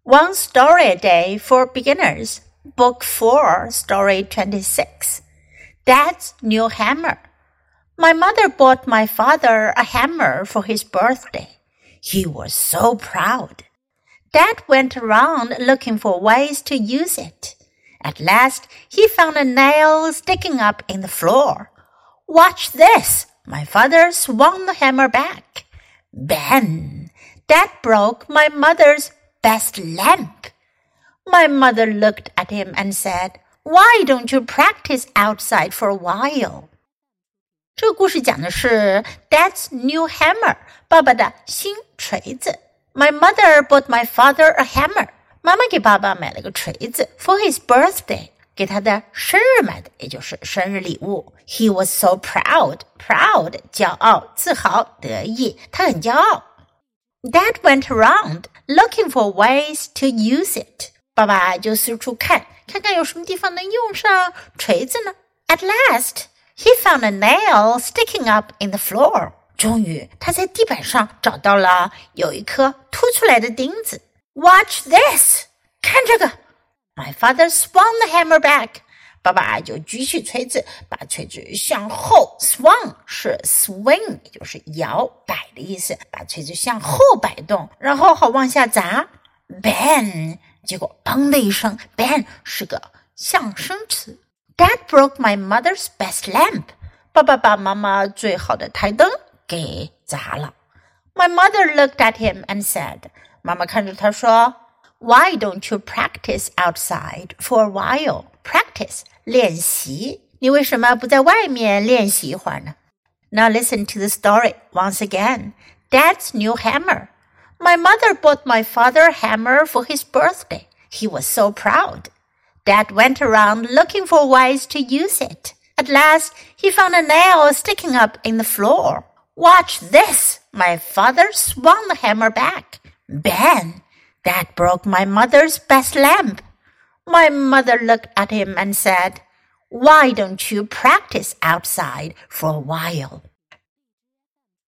One Story a Day for Beginners, Book 4, Story 26. Dad's New Hammer. My mother bought my father a hammer for his birthday. He was so proud. Dad went around looking for ways to use it. At last, he found a nail sticking up in the floor. Watch this! My father swung the hammer back. Bang! Dad broke my mother's best lamp. My mother looked at him and said, Why don't you practice outside for a while? 这个故事讲的是 Dad's new hammer, 爸爸的新锤子。My mother bought my father a hammer. 妈妈给爸爸买了个锤子 for his birthday, 给他的生日买的，也就是生日礼物。He was so proud, 骄傲、自豪、得意，他很骄傲。Dad went around looking for ways to use it. 爸爸就四处看看有什么地方能用上锤子呢。At last, he found a nail sticking up in the floor. 终于，他在地板上找到了有一颗凸出来的钉子。Watch this! 看这个 My father swung the hammer back. 爸爸就举起锤子，把锤子向后 swung 是 swing 也就是摇摆的意思，把锤子向后摆动，然后好往下砸 bang 结果砰的一声 bang 是个象声词。 Dad broke my mother's best lamp. 爸爸把妈妈最好的台灯给砸了。 My mother looked at him and said, 妈妈看着他说Why don't you practice outside for a while? Practice, 练习。你为什么不在外面练习一会儿呢？ Now listen to the story once again. Dad's new hammer. My mother bought my father a hammer for his birthday. He was so proud. Dad went around looking for ways to use it. At last, he found a nail sticking up in the floor. Watch this! My father swung the hammer back. Bang! That broke my mother's best lamp. My mother looked at him and said, Why don't you practice outside for a while?